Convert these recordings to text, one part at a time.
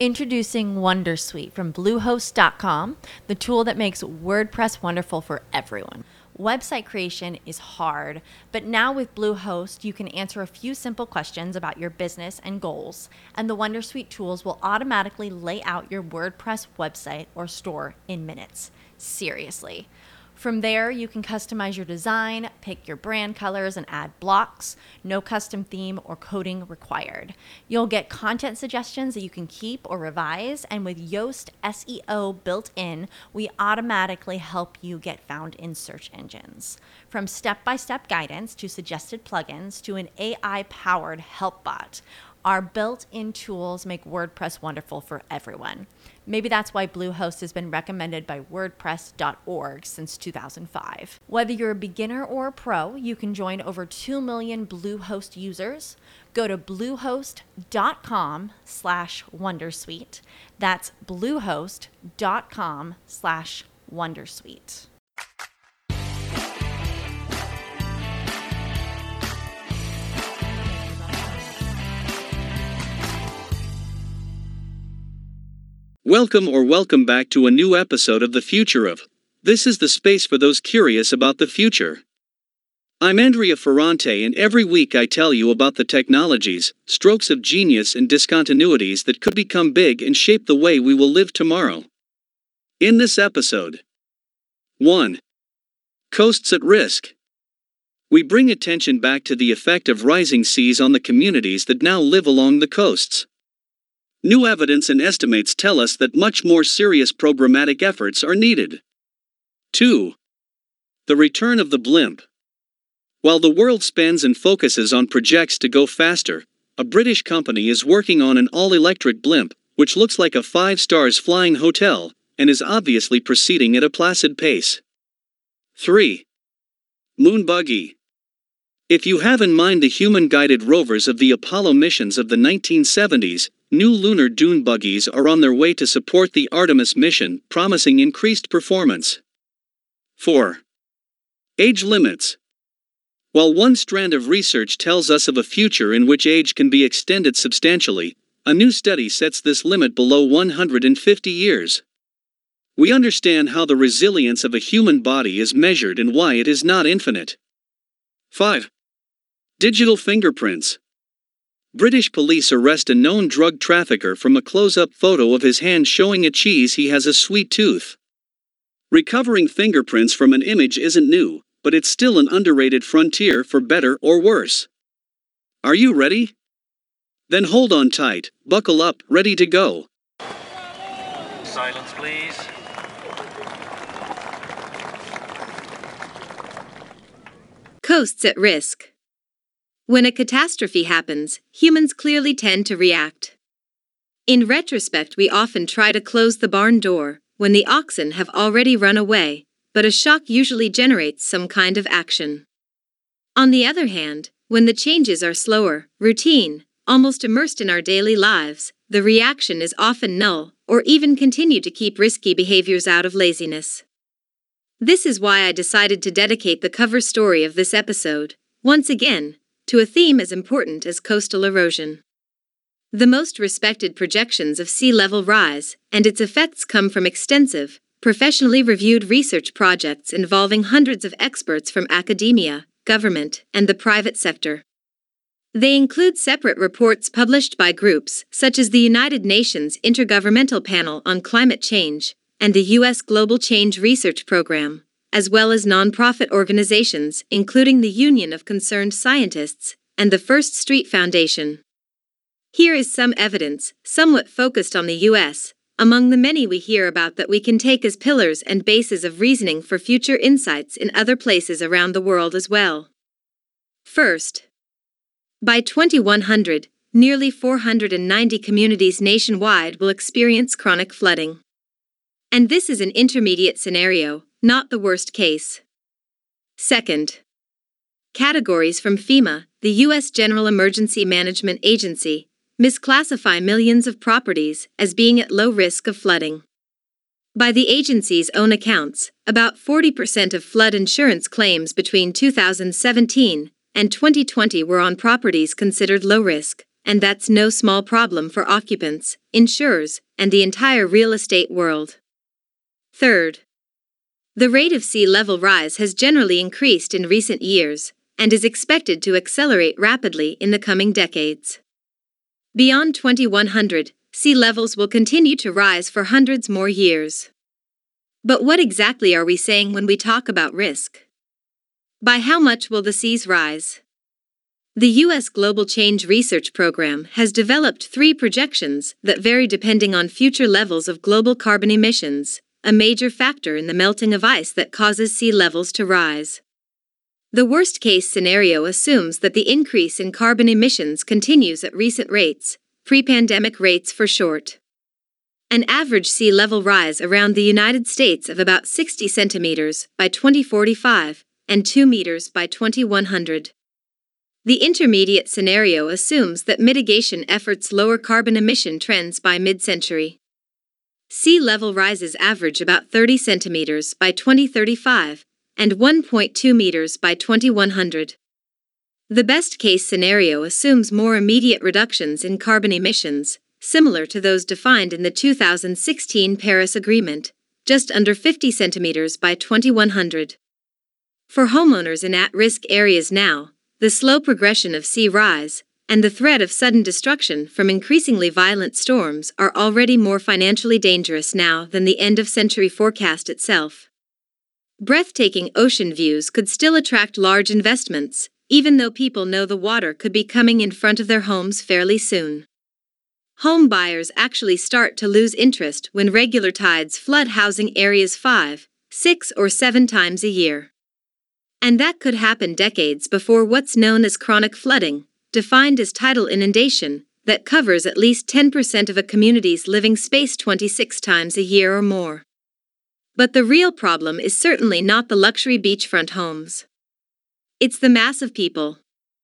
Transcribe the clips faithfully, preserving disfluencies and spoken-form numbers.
Introducing Wondersuite from Bluehost dot com, the tool that makes WordPress wonderful for everyone. Website creation is hard, but now with Bluehost, you can answer a few simple questions about your business and goals, and the Wondersuite tools will automatically lay out your WordPress website or store in minutes. Seriously. From there, you can customize your design, pick your brand colors, and add blocks. No custom theme or coding required. You'll get content suggestions that you can keep or revise, and with Yoast S E O built in, we automatically help you get found in search engines. From step-by-step guidance to suggested plugins to an A I-powered help bot, our built-in tools make WordPress wonderful for everyone. Maybe that's why Bluehost has been recommended by WordPress dot org since two thousand five. Whether you're a beginner or a pro, you can join over two million Bluehost users. Go to bluehost dot com slash wondersuite. That's bluehost dot com slash wondersuite. Welcome or welcome back to a new episode of The Future of. This is the space for those curious about the future. I'm Andrea Ferrante, and every week I tell you about the technologies, strokes of genius and discontinuities that could become big and shape the way we will live tomorrow. In this episode, one. Coasts at risk. We bring attention back to the effect of rising seas on the communities that now live along the coasts. New evidence and estimates tell us that much more serious programmatic efforts are needed. two. The return of the blimp. While the world spends and focuses on projects to go faster, a British company is working on an all-electric blimp, which looks like a five-stars flying hotel, and is obviously proceeding at a placid pace. three. Moon buggy. If you have in mind the human-guided rovers of the Apollo missions of the nineteen seventies, new lunar dune buggies are on their way to support the Artemis mission, promising increased performance. four. Age limits. While one strand of research tells us of a future in which age can be extended substantially, a new study sets this limit below one hundred fifty years. We understand how the resilience of a human body is measured and why it is not infinite. five. Digital fingerprints. British police arrest a known drug trafficker from a close-up photo of his hand showing a cheese he has a sweet tooth. Recovering fingerprints from an image isn't new, but it's still an underrated frontier for better or worse. Are you ready? Then hold on tight, buckle up, ready to go. Silence, please. Coasts at risk. When a catastrophe happens, humans clearly tend to react. In retrospect, we often try to close the barn door when the oxen have already run away, but a shock usually generates some kind of action. On the other hand, when the changes are slower, routine, almost immersed in our daily lives, the reaction is often null, or even continue to keep risky behaviors out of laziness. This is why I decided to dedicate the cover story of this episode, once again, to a theme as important as coastal erosion. The most respected projections of sea level rise and its effects come from extensive, professionally reviewed research projects involving hundreds of experts from academia, government, and the private sector. They include separate reports published by groups such as the United Nations Intergovernmental Panel on Climate Change and the U S Global Change Research Program, as well as nonprofit organizations including the Union of Concerned Scientists and the First Street Foundation. Here is some evidence, somewhat focused on the U S, among the many we hear about that we can take as pillars and bases of reasoning for future insights in other places around the world as well. First, by twenty-one hundred, nearly four hundred ninety communities nationwide will experience chronic flooding. And this is an intermediate scenario, not the worst case. Second, categories from FEMA, the U S General Emergency Management Agency, misclassify millions of properties as being at low risk of flooding. By the agency's own accounts, about forty percent of flood insurance claims between two thousand seventeen and twenty twenty were on properties considered low risk, and that's no small problem for occupants, insurers, and the entire real estate world. Third, the rate of sea level rise has generally increased in recent years, and is expected to accelerate rapidly in the coming decades. Beyond twenty-one hundred, sea levels will continue to rise for hundreds more years. But what exactly are we saying when we talk about risk? By how much will the seas rise? The U S Global Change Research Program has developed three projections that vary depending on future levels of global carbon emissions, a major factor in the melting of ice that causes sea levels to rise. The worst-case scenario assumes that the increase in carbon emissions continues at recent rates, pre-pandemic rates for short. An average sea level rise around the United States of about sixty centimeters by twenty forty-five and two meters by twenty-one hundred. The intermediate scenario assumes that mitigation efforts lower carbon emission trends by mid-century. Sea level rises average about thirty centimeters by twenty thirty-five and one point two meters by twenty-one hundred. The best-case scenario assumes more immediate reductions in carbon emissions, similar to those defined in the two thousand sixteen Paris Agreement, just under fifty centimeters by twenty-one hundred. For homeowners in at-risk areas now, the slow progression of sea rise and the threat of sudden destruction from increasingly violent storms are already more financially dangerous now than the end-of-century forecast itself. Breathtaking ocean views could still attract large investments, even though people know the water could be coming in front of their homes fairly soon. Home buyers actually start to lose interest when regular tides flood housing areas five, six, or seven times a year. And that could happen decades before what's known as chronic flooding, defined as tidal inundation, that covers at least ten percent of a community's living space twenty-six times a year or more. But the real problem is certainly not the luxury beachfront homes. It's the mass of people.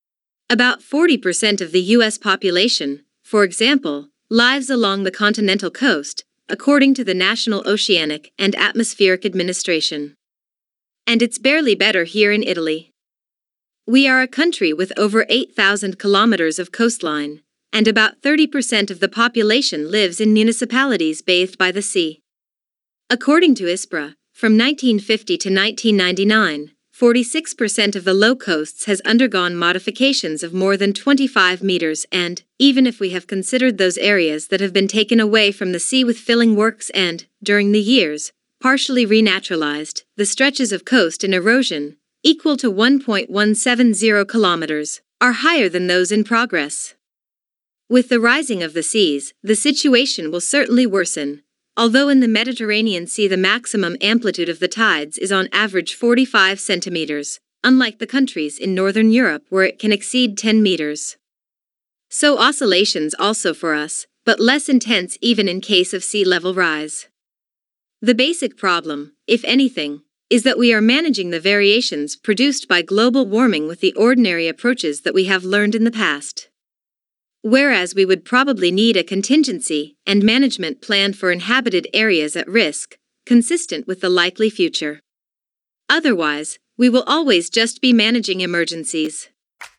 About forty percent of the U S population, for example, lives along the continental coast, according to the National Oceanic and Atmospheric Administration. And it's barely better here in Italy. We are a country with over eight thousand kilometers of coastline, and about thirty percent of the population lives in municipalities bathed by the sea. According to ISPRA, from nineteen fifty to nineteen ninety-nine, forty-six percent of the low coasts has undergone modifications of more than twenty-five meters and, even if we have considered those areas that have been taken away from the sea with filling works and, during the years, partially renaturalized, the stretches of coast in erosion, equal to one point one seven zero kilometers, are higher than those in progress. With the rising of the seas, the situation will certainly worsen, although in the Mediterranean Sea the maximum amplitude of the tides is on average forty-five centimeters, unlike the countries in Northern Europe where it can exceed ten meters. So oscillations also for us, but less intense even in case of sea level rise. The basic problem, if anything, is that we are managing the variations produced by global warming with the ordinary approaches that we have learned in the past. Whereas we would probably need a contingency and management plan for inhabited areas at risk, consistent with the likely future. Otherwise, we will always just be managing emergencies.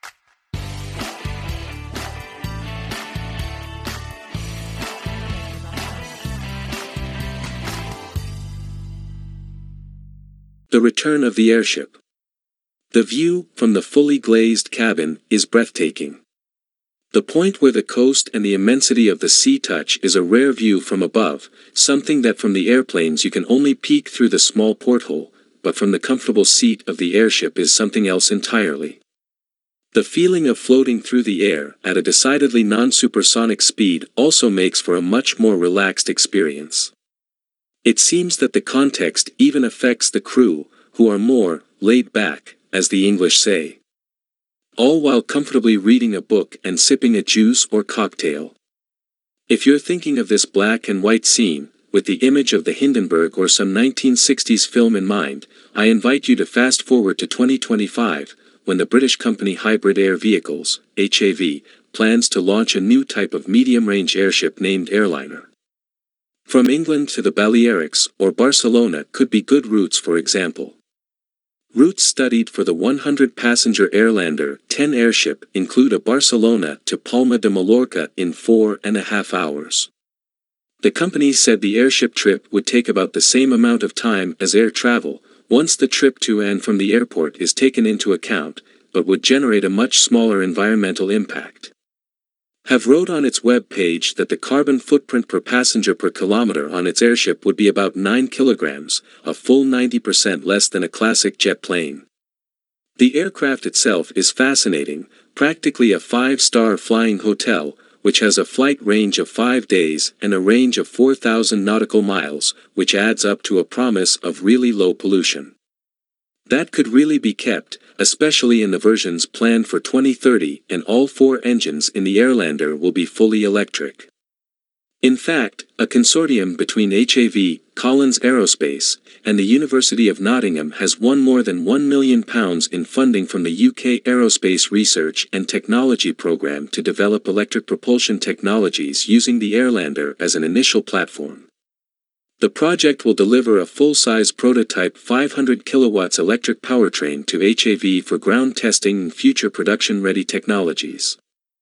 The return of the airship. The view from the fully glazed cabin is breathtaking. The point where the coast and the immensity of the sea touch is a rare view from above, something that from the airplanes you can only peek through the small porthole, but from the comfortable seat of the airship is something else entirely. The feeling of floating through the air at a decidedly non-supersonic speed also makes for a much more relaxed experience. It seems that the context even affects the crew, who are more laid back, as the English say. All while comfortably reading a book and sipping a juice or cocktail. If you're thinking of this black and white scene, with the image of the Hindenburg or some nineteen sixties film in mind, I invite you to fast forward to twenty twenty-five, when the British company Hybrid Air Vehicles, H A V, plans to launch a new type of medium-range airship named Airliner. From England to the Balearics or Barcelona could be good routes, for example. Routes studied for the one hundred passenger Airlander ten airship include a Barcelona to Palma de Mallorca in four and a half hours. The company said the airship trip would take about the same amount of time as air travel, once the trip to and from the airport is taken into account, but would generate a much smaller environmental impact. Have wrote on its web page that the carbon footprint per passenger per kilometer on its airship would be about nine kilograms, a full ninety percent less than a classic jet plane. The aircraft itself is fascinating, practically a five-star flying hotel, which has a flight range of five days and a range of four thousand nautical miles, which adds up to a promise of really low pollution. That could really be kept, especially in the versions planned for twenty thirty, and all four engines in the Airlander will be fully electric. In fact, a consortium between H A V, Collins Aerospace, and the University of Nottingham has won more than one million pounds in funding from the U K Aerospace Research and Technology Programme to develop electric propulsion technologies using the Airlander as an initial platform. The project will deliver a full-size prototype five hundred kilowatts electric powertrain to H A V for ground testing and future production-ready technologies.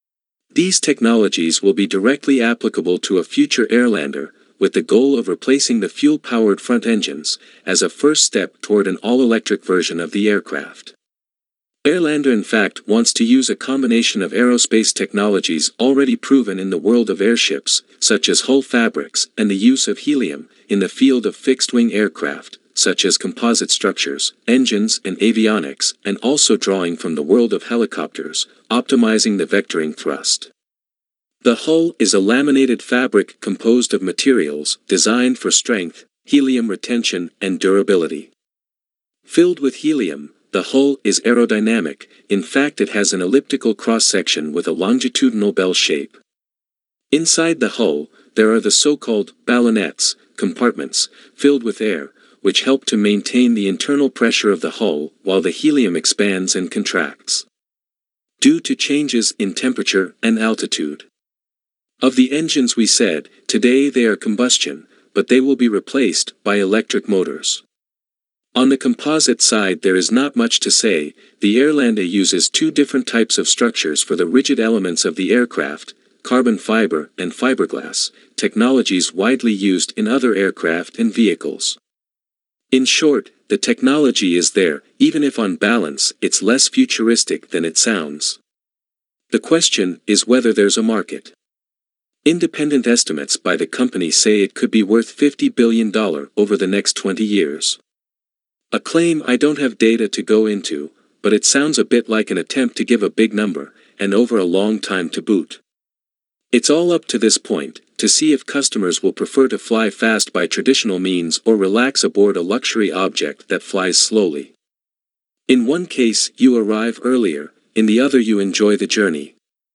These technologies will be directly applicable to a future Airlander, with the goal of replacing the fuel-powered front engines, as a first step toward an all-electric version of the aircraft. Airlander in fact wants to use a combination of aerospace technologies already proven in the world of airships, such as hull fabrics and the use of helium, in the field of fixed-wing aircraft, such as composite structures, engines and avionics, and also drawing from the world of helicopters, optimizing the vectoring thrust. The hull is a laminated fabric composed of materials designed for strength, helium retention, and durability. Filled with helium, the hull is aerodynamic. In fact, it has an elliptical cross-section with a longitudinal bell shape. Inside the hull, there are the so-called ballonets, compartments, filled with air, which help to maintain the internal pressure of the hull while the helium expands and contracts due to changes in temperature and altitude. Of the engines we said, today they are combustion, but they will be replaced by electric motors. On the composite side there is not much to say. The Airlander uses two different types of structures for the rigid elements of the aircraft, carbon fiber and fiberglass, technologies widely used in other aircraft and vehicles. In short, the technology is there, even if on balance it's less futuristic than it sounds. The question is whether there's a market. Independent estimates by the company say it could be worth fifty billion dollars over the next twenty years. A claim I don't have data to go into, but it sounds a bit like an attempt to give a big number, and over a long time to boot. It's all up to this point, to see if customers will prefer to fly fast by traditional means or relax aboard a luxury object that flies slowly. In one case, you arrive earlier, in the other you enjoy the journey.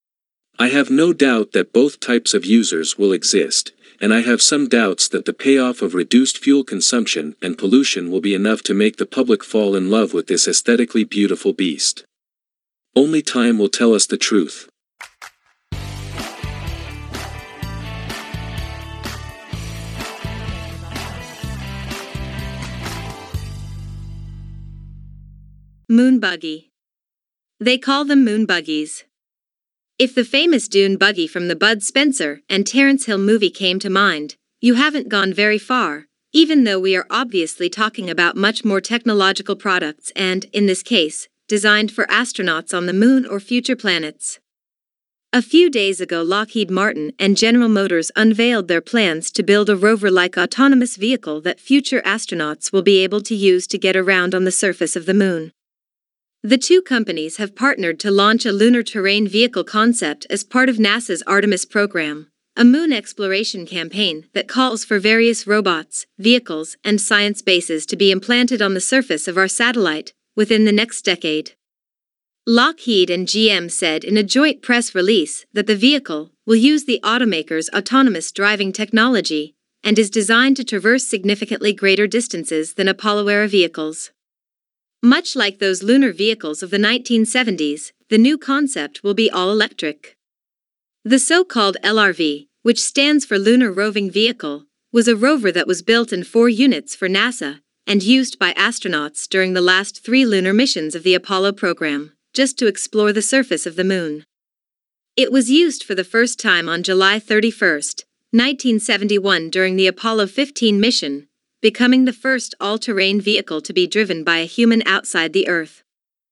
I have no doubt that both types of users will exist, and I have some doubts that the payoff of reduced fuel consumption and pollution will be enough to make the public fall in love with this aesthetically beautiful beast. Only time will tell us the truth. Moon buggy. They call them moon buggies. If the famous dune buggy from the Bud Spencer and Terence Hill movie came to mind, you haven't gone very far, even though we are obviously talking about much more technological products and, in this case, designed for astronauts on the moon or future planets. A few days ago, Lockheed Martin and General Motors unveiled their plans to build a rover-like autonomous vehicle that future astronauts will be able to use to get around on the surface of the moon. The two companies have partnered to launch a lunar terrain vehicle concept as part of NASA's Artemis program, a moon exploration campaign that calls for various robots, vehicles, and science bases to be implanted on the surface of our satellite within the next decade. Lockheed and G M said in a joint press release that the vehicle will use the automaker's autonomous driving technology and is designed to traverse significantly greater distances than Apollo-era vehicles. Much like those lunar vehicles of the nineteen seventies, the new concept will be all-electric. The so-called L R V, which stands for Lunar Roving Vehicle, was a rover that was built in four units for NASA and used by astronauts during the last three lunar missions of the Apollo program, just to explore the surface of the Moon. It was used for the first time on July thirty-first, nineteen seventy-one during the Apollo fifteen mission, becoming the first all-terrain vehicle to be driven by a human outside the Earth.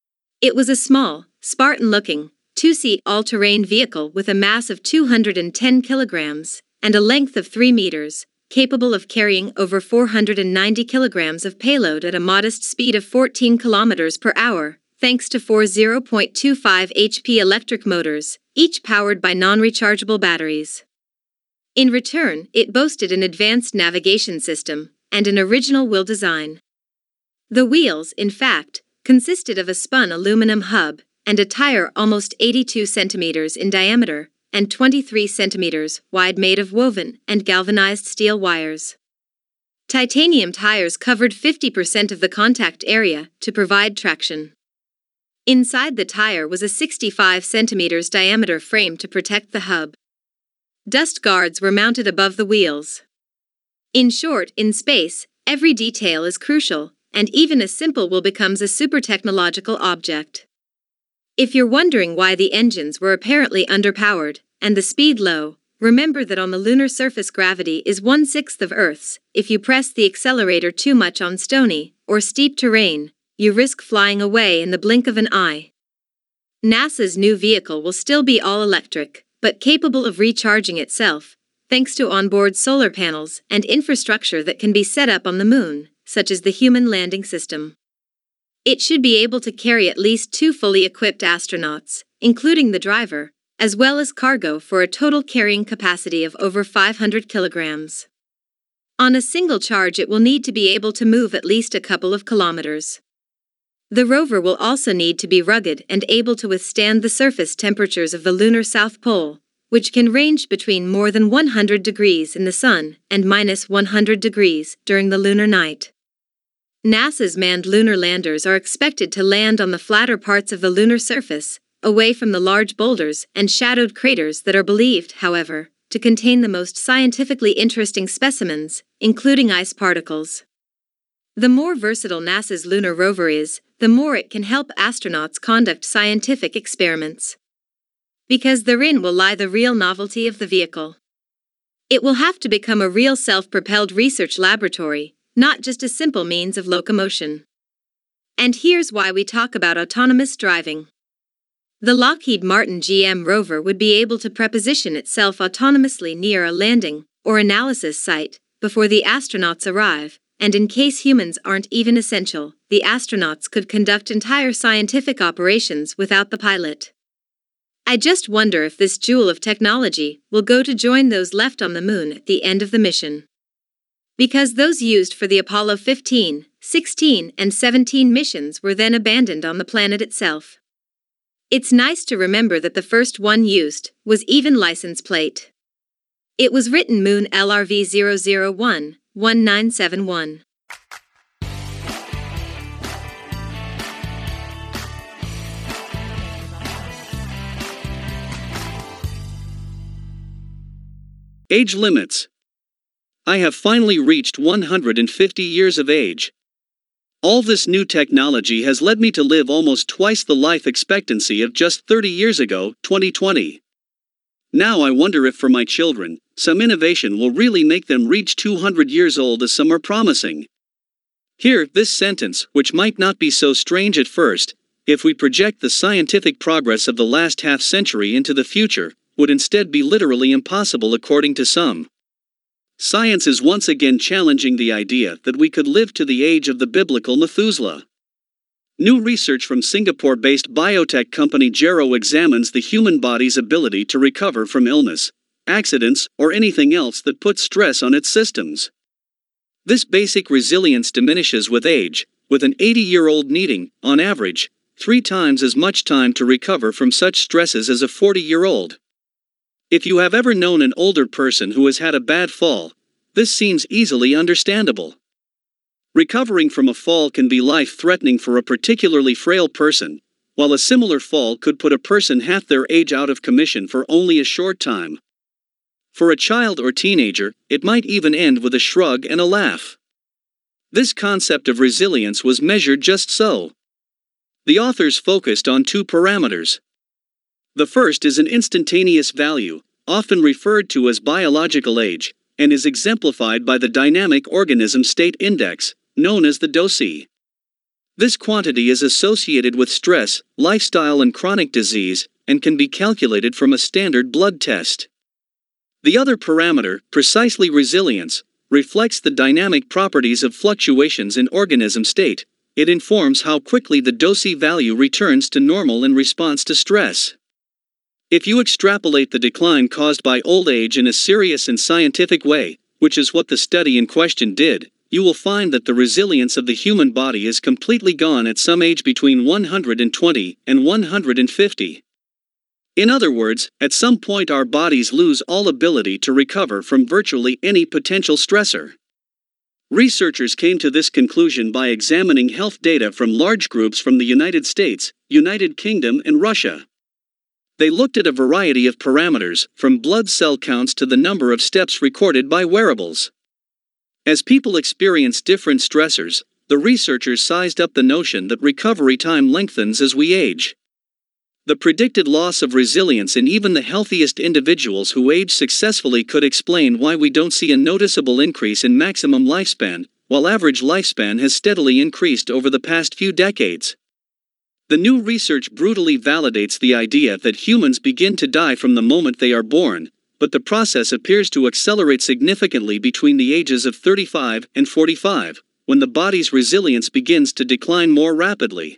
It was a small, Spartan-looking, two-seat all-terrain vehicle with a mass of two hundred ten kilograms and a length of three meters, capable of carrying over four hundred ninety kilograms of payload at a modest speed of fourteen kilometers per hour, thanks to four zero point two five horsepower electric motors, each powered by non-rechargeable batteries. In return, it boasted an advanced navigation system and an original wheel design. The wheels, in fact, consisted of a spun aluminum hub and a tire almost eighty-two centimeters in diameter and twenty-three centimeters wide made of woven and galvanized steel wires. Titanium tires covered fifty percent of the contact area to provide traction. Inside the tire was a sixty-five centimeters diameter frame to protect the hub. Dust guards were mounted above the wheels. In short, in space, every detail is crucial, and even a simple wheel becomes a super technological object. If you're wondering why the engines were apparently underpowered and the speed low, remember that on the lunar surface gravity is one-sixth of Earth's. If you press the accelerator too much on stony or steep terrain, you risk flying away in the blink of an eye. NASA's new vehicle will still be all-electric, but capable of recharging itself, thanks to onboard solar panels and infrastructure that can be set up on the Moon, such as the Human Landing System. It should be able to carry at least two fully equipped astronauts, including the driver, as well as cargo for a total carrying capacity of over five hundred kilograms. On a single charge, it will need to be able to move at least a couple of kilometers. The rover will also need to be rugged and able to withstand the surface temperatures of the lunar South Pole, which can range between more than one hundred degrees in the sun and minus one hundred degrees during the lunar night. NASA's manned lunar landers are expected to land on the flatter parts of the lunar surface, away from the large boulders and shadowed craters that are believed, however, to contain the most scientifically interesting specimens, including ice particles. The more versatile NASA's lunar rover is, the more it can help astronauts conduct scientific experiments. Because therein will lie the real novelty of the vehicle. It will have to become a real self-propelled research laboratory, not just a simple means of locomotion. And here's why we talk about autonomous driving. The Lockheed Martin G M rover would be able to preposition itself autonomously near a landing or analysis site before the astronauts arrive, and in case humans aren't even essential, the astronauts could conduct entire scientific operations without the pilot. I just wonder if this jewel of technology will go to join those left on the Moon at the end of the mission. Because those used for the Apollo fifteen, sixteen, and seventeen missions were then abandoned on the planet itself. It's nice to remember that the first one used was even license plate. It was written Moon L R V zero zero one one nine seven one. Age limits. I have finally reached one hundred fifty years of age. All this new technology has led me to live almost twice the life expectancy of just thirty years ago, twenty twenty. Now I wonder if for my children, some innovation will really make them reach two hundred years old as some are promising. Here, this sentence, which might not be so strange at first, if we project the scientific progress of the last half century into the future, would instead be literally impossible according to some. Science is once again challenging the idea that we could live to the age of the biblical Methuselah. New research from Singapore-based biotech company Gero examines the human body's ability to recover from illness, accidents, or anything else that puts stress on its systems. This basic resilience diminishes with age, with an eighty-year-old needing, on average, three times as much time to recover from such stresses as a forty-year-old. If you have ever known an older person who has had a bad fall, this seems easily understandable. Recovering from a fall can be life-threatening for a particularly frail person, while a similar fall could put a person half their age out of commission for only a short time. For a child or teenager, it might even end with a shrug and a laugh. This concept of resilience was measured just so. The authors focused on two parameters. The first is an instantaneous value, often referred to as biological age, and is exemplified by the Dynamic Organism State Index, known as the D O S I. This quantity is associated with stress, lifestyle and chronic disease, and can be calculated from a standard blood test. The other parameter, precisely resilience, reflects the dynamic properties of fluctuations in organism state. It informs how quickly the D O S I value returns to normal in response to stress. If you extrapolate the decline caused by old age in a serious and scientific way, which is what the study in question did, you will find that the resilience of the human body is completely gone at some age between one hundred twenty and one hundred fifty. In other words, at some point our bodies lose all ability to recover from virtually any potential stressor. Researchers came to this conclusion by examining health data from large groups from the United States, United Kingdom, and Russia. They looked at a variety of parameters, from blood cell counts to the number of steps recorded by wearables. As people experience different stressors, the researchers sized up the notion that recovery time lengthens as we age. The predicted loss of resilience in even the healthiest individuals who age successfully could explain why we don't see a noticeable increase in maximum lifespan, while average lifespan has steadily increased over the past few decades. The new research brutally validates the idea that humans begin to die from the moment they are born, but the process appears to accelerate significantly between the ages of thirty-five and forty-five, when the body's resilience begins to decline more rapidly.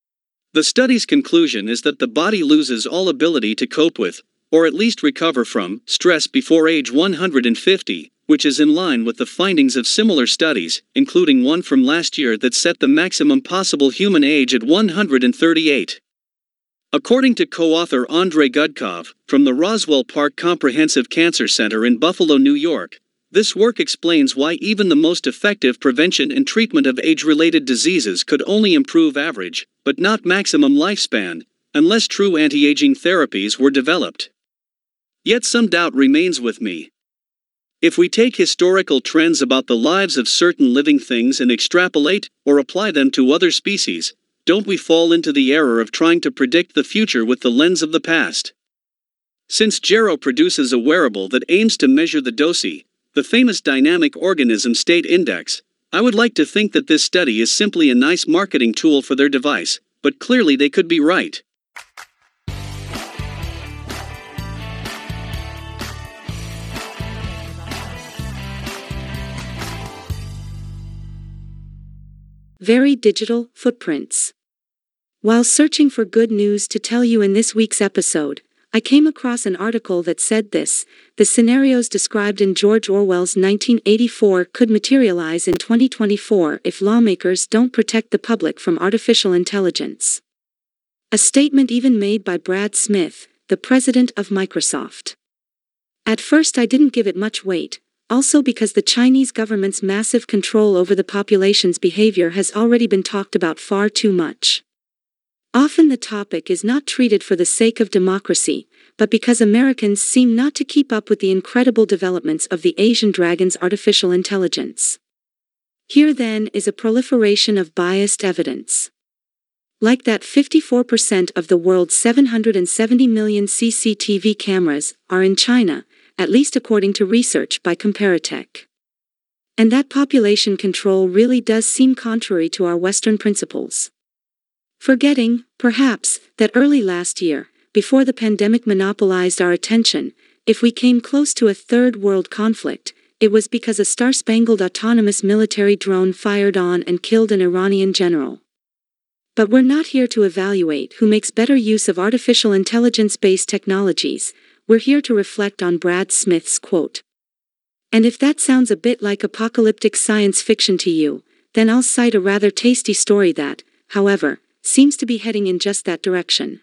The study's conclusion is that the body loses all ability to cope with, or at least recover from, stress before age one hundred fifty, which is in line with the findings of similar studies, including one from last year that set the maximum possible human age at one hundred thirty-eight. According to co-author Andrei Gudkov, from the Roswell Park Comprehensive Cancer Center in Buffalo, New York, this work explains why even the most effective prevention and treatment of age-related diseases could only improve average, but not maximum lifespan, unless true anti-aging therapies were developed. Yet some doubt remains with me. If we take historical trends about the lives of certain living things and extrapolate, or apply them to other species, don't we fall into the error of trying to predict the future with the lens of the past? Since Gero produces a wearable that aims to measure the D O S I, the famous Dynamic Organism State Index, I would like to think that this study is simply a nice marketing tool for their device, but clearly they could be right. Very digital footprints. While searching for good news to tell you in this week's episode, I came across an article that said this: the scenarios described in George Orwell's nineteen eighty-four could materialize in twenty twenty-four if lawmakers don't protect the public from artificial intelligence. A statement even made by Brad Smith, the president of Microsoft. At first I didn't give it much weight, also because the Chinese government's massive control over the population's behavior has already been talked about far too much. Often the topic is not treated for the sake of democracy, but because Americans seem not to keep up with the incredible developments of the Asian dragon's artificial intelligence. Here then is a proliferation of biased evidence. Like that fifty-four percent of the world's seven hundred seventy million C C T V cameras are in China, at least according to research by Comparitech. And that population control really does seem contrary to our Western principles. Forgetting, perhaps, that early last year, before the pandemic monopolized our attention, if we came close to a third world conflict, it was because a star-spangled autonomous military drone fired on and killed an Iranian general. But we're not here to evaluate who makes better use of artificial intelligence-based technologies. We're here to reflect on Brad Smith's quote. And if that sounds a bit like apocalyptic science fiction to you, then I'll cite a rather tasty story that, however, seems to be heading in just that direction.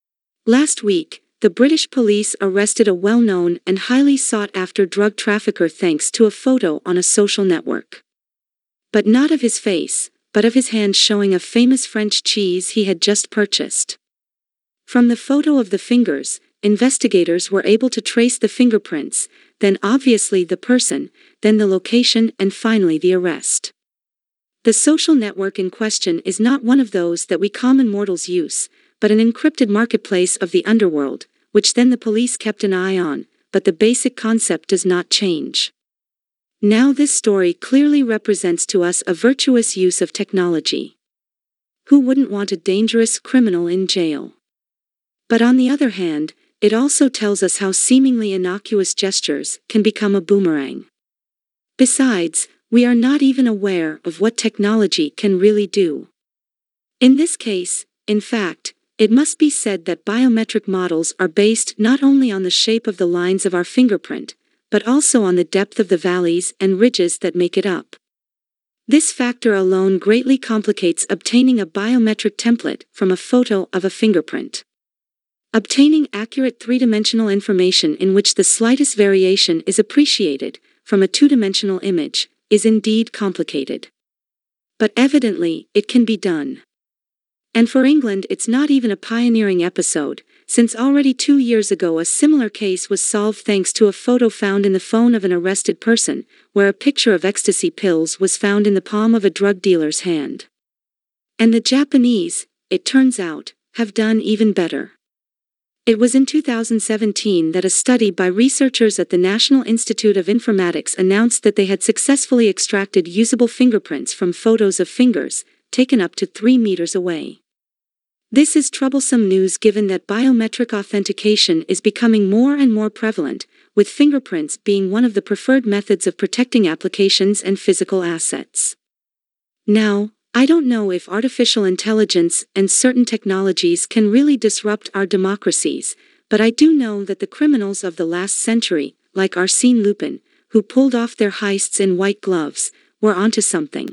Last week, the British police arrested a well-known and highly sought-after drug trafficker thanks to a photo on a social network. But not of his face, but of his hand showing a famous French cheese he had just purchased. From the photo of the fingers, investigators were able to trace the fingerprints, then obviously the person, then the location and finally the arrest. The social network in question is not one of those that we common mortals use, but an encrypted marketplace of the underworld, which then the police kept an eye on, but the basic concept does not change. Now this story clearly represents to us a virtuous use of technology. Who wouldn't want a dangerous criminal in jail? But on the other hand, it also tells us how seemingly innocuous gestures can become a boomerang. Besides, we are not even aware of what technology can really do. In this case, in fact, it must be said that biometric models are based not only on the shape of the lines of our fingerprint, but also on the depth of the valleys and ridges that make it up. This factor alone greatly complicates obtaining a biometric template from a photo of a fingerprint. Obtaining accurate three-dimensional information in which the slightest variation is appreciated from a two-dimensional image is indeed complicated. But evidently, it can be done. And for England, it's not even a pioneering episode, since already two years ago a similar case was solved thanks to a photo found in the phone of an arrested person, where a picture of ecstasy pills was found in the palm of a drug dealer's hand. And the Japanese, it turns out, have done even better. It was in two thousand seventeen that a study by researchers at the National Institute of Informatics announced that they had successfully extracted usable fingerprints from photos of fingers, taken up to three meters away. This is troublesome news given that biometric authentication is becoming more and more prevalent, with fingerprints being one of the preferred methods of protecting applications and physical assets. Now, I don't know if artificial intelligence and certain technologies can really disrupt our democracies, but I do know that the criminals of the last century, like Arsène Lupin, who pulled off their heists in white gloves, were onto something.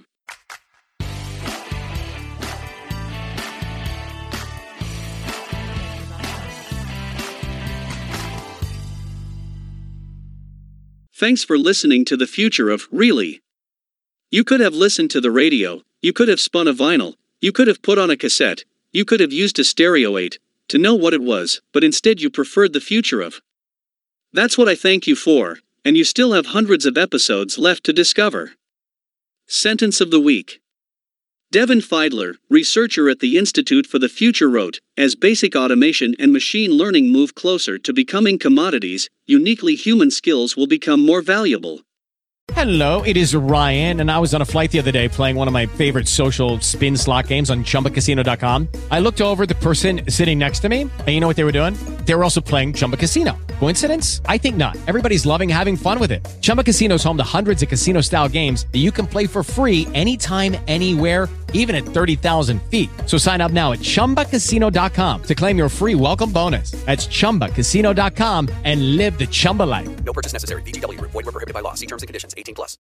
Thanks for listening to The Future of Really. You could have listened to the radio, you could have spun a vinyl, you could have put on a cassette, you could have used a stereo eight to know what it was, but instead you preferred The Future of. That's what I thank you for, and you still have hundreds of episodes left to discover. Sentence of the Week. Devin Feidler, researcher at the Institute for the Future wrote, as basic automation and machine learning move closer to becoming commodities, uniquely human skills will become more valuable. Hello, it is Ryan, and I was on a flight the other day playing one of my favorite social spin slot games on Chumba Casino dot com. I looked over at the person sitting next to me, and you know what they were doing? They were also playing Chumba Casino. Coincidence? I think not. Everybody's loving having fun with it. Chumba Casino is home to hundreds of casino-style games that you can play for free anytime, anywhere, even at thirty thousand feet. So sign up now at Chumba Casino dot com to claim your free welcome bonus. That's Chumba Casino dot com and live the Chumba life. No purchase necessary. V G W. Void where prohibited by law. See terms and conditions. eighteen plus.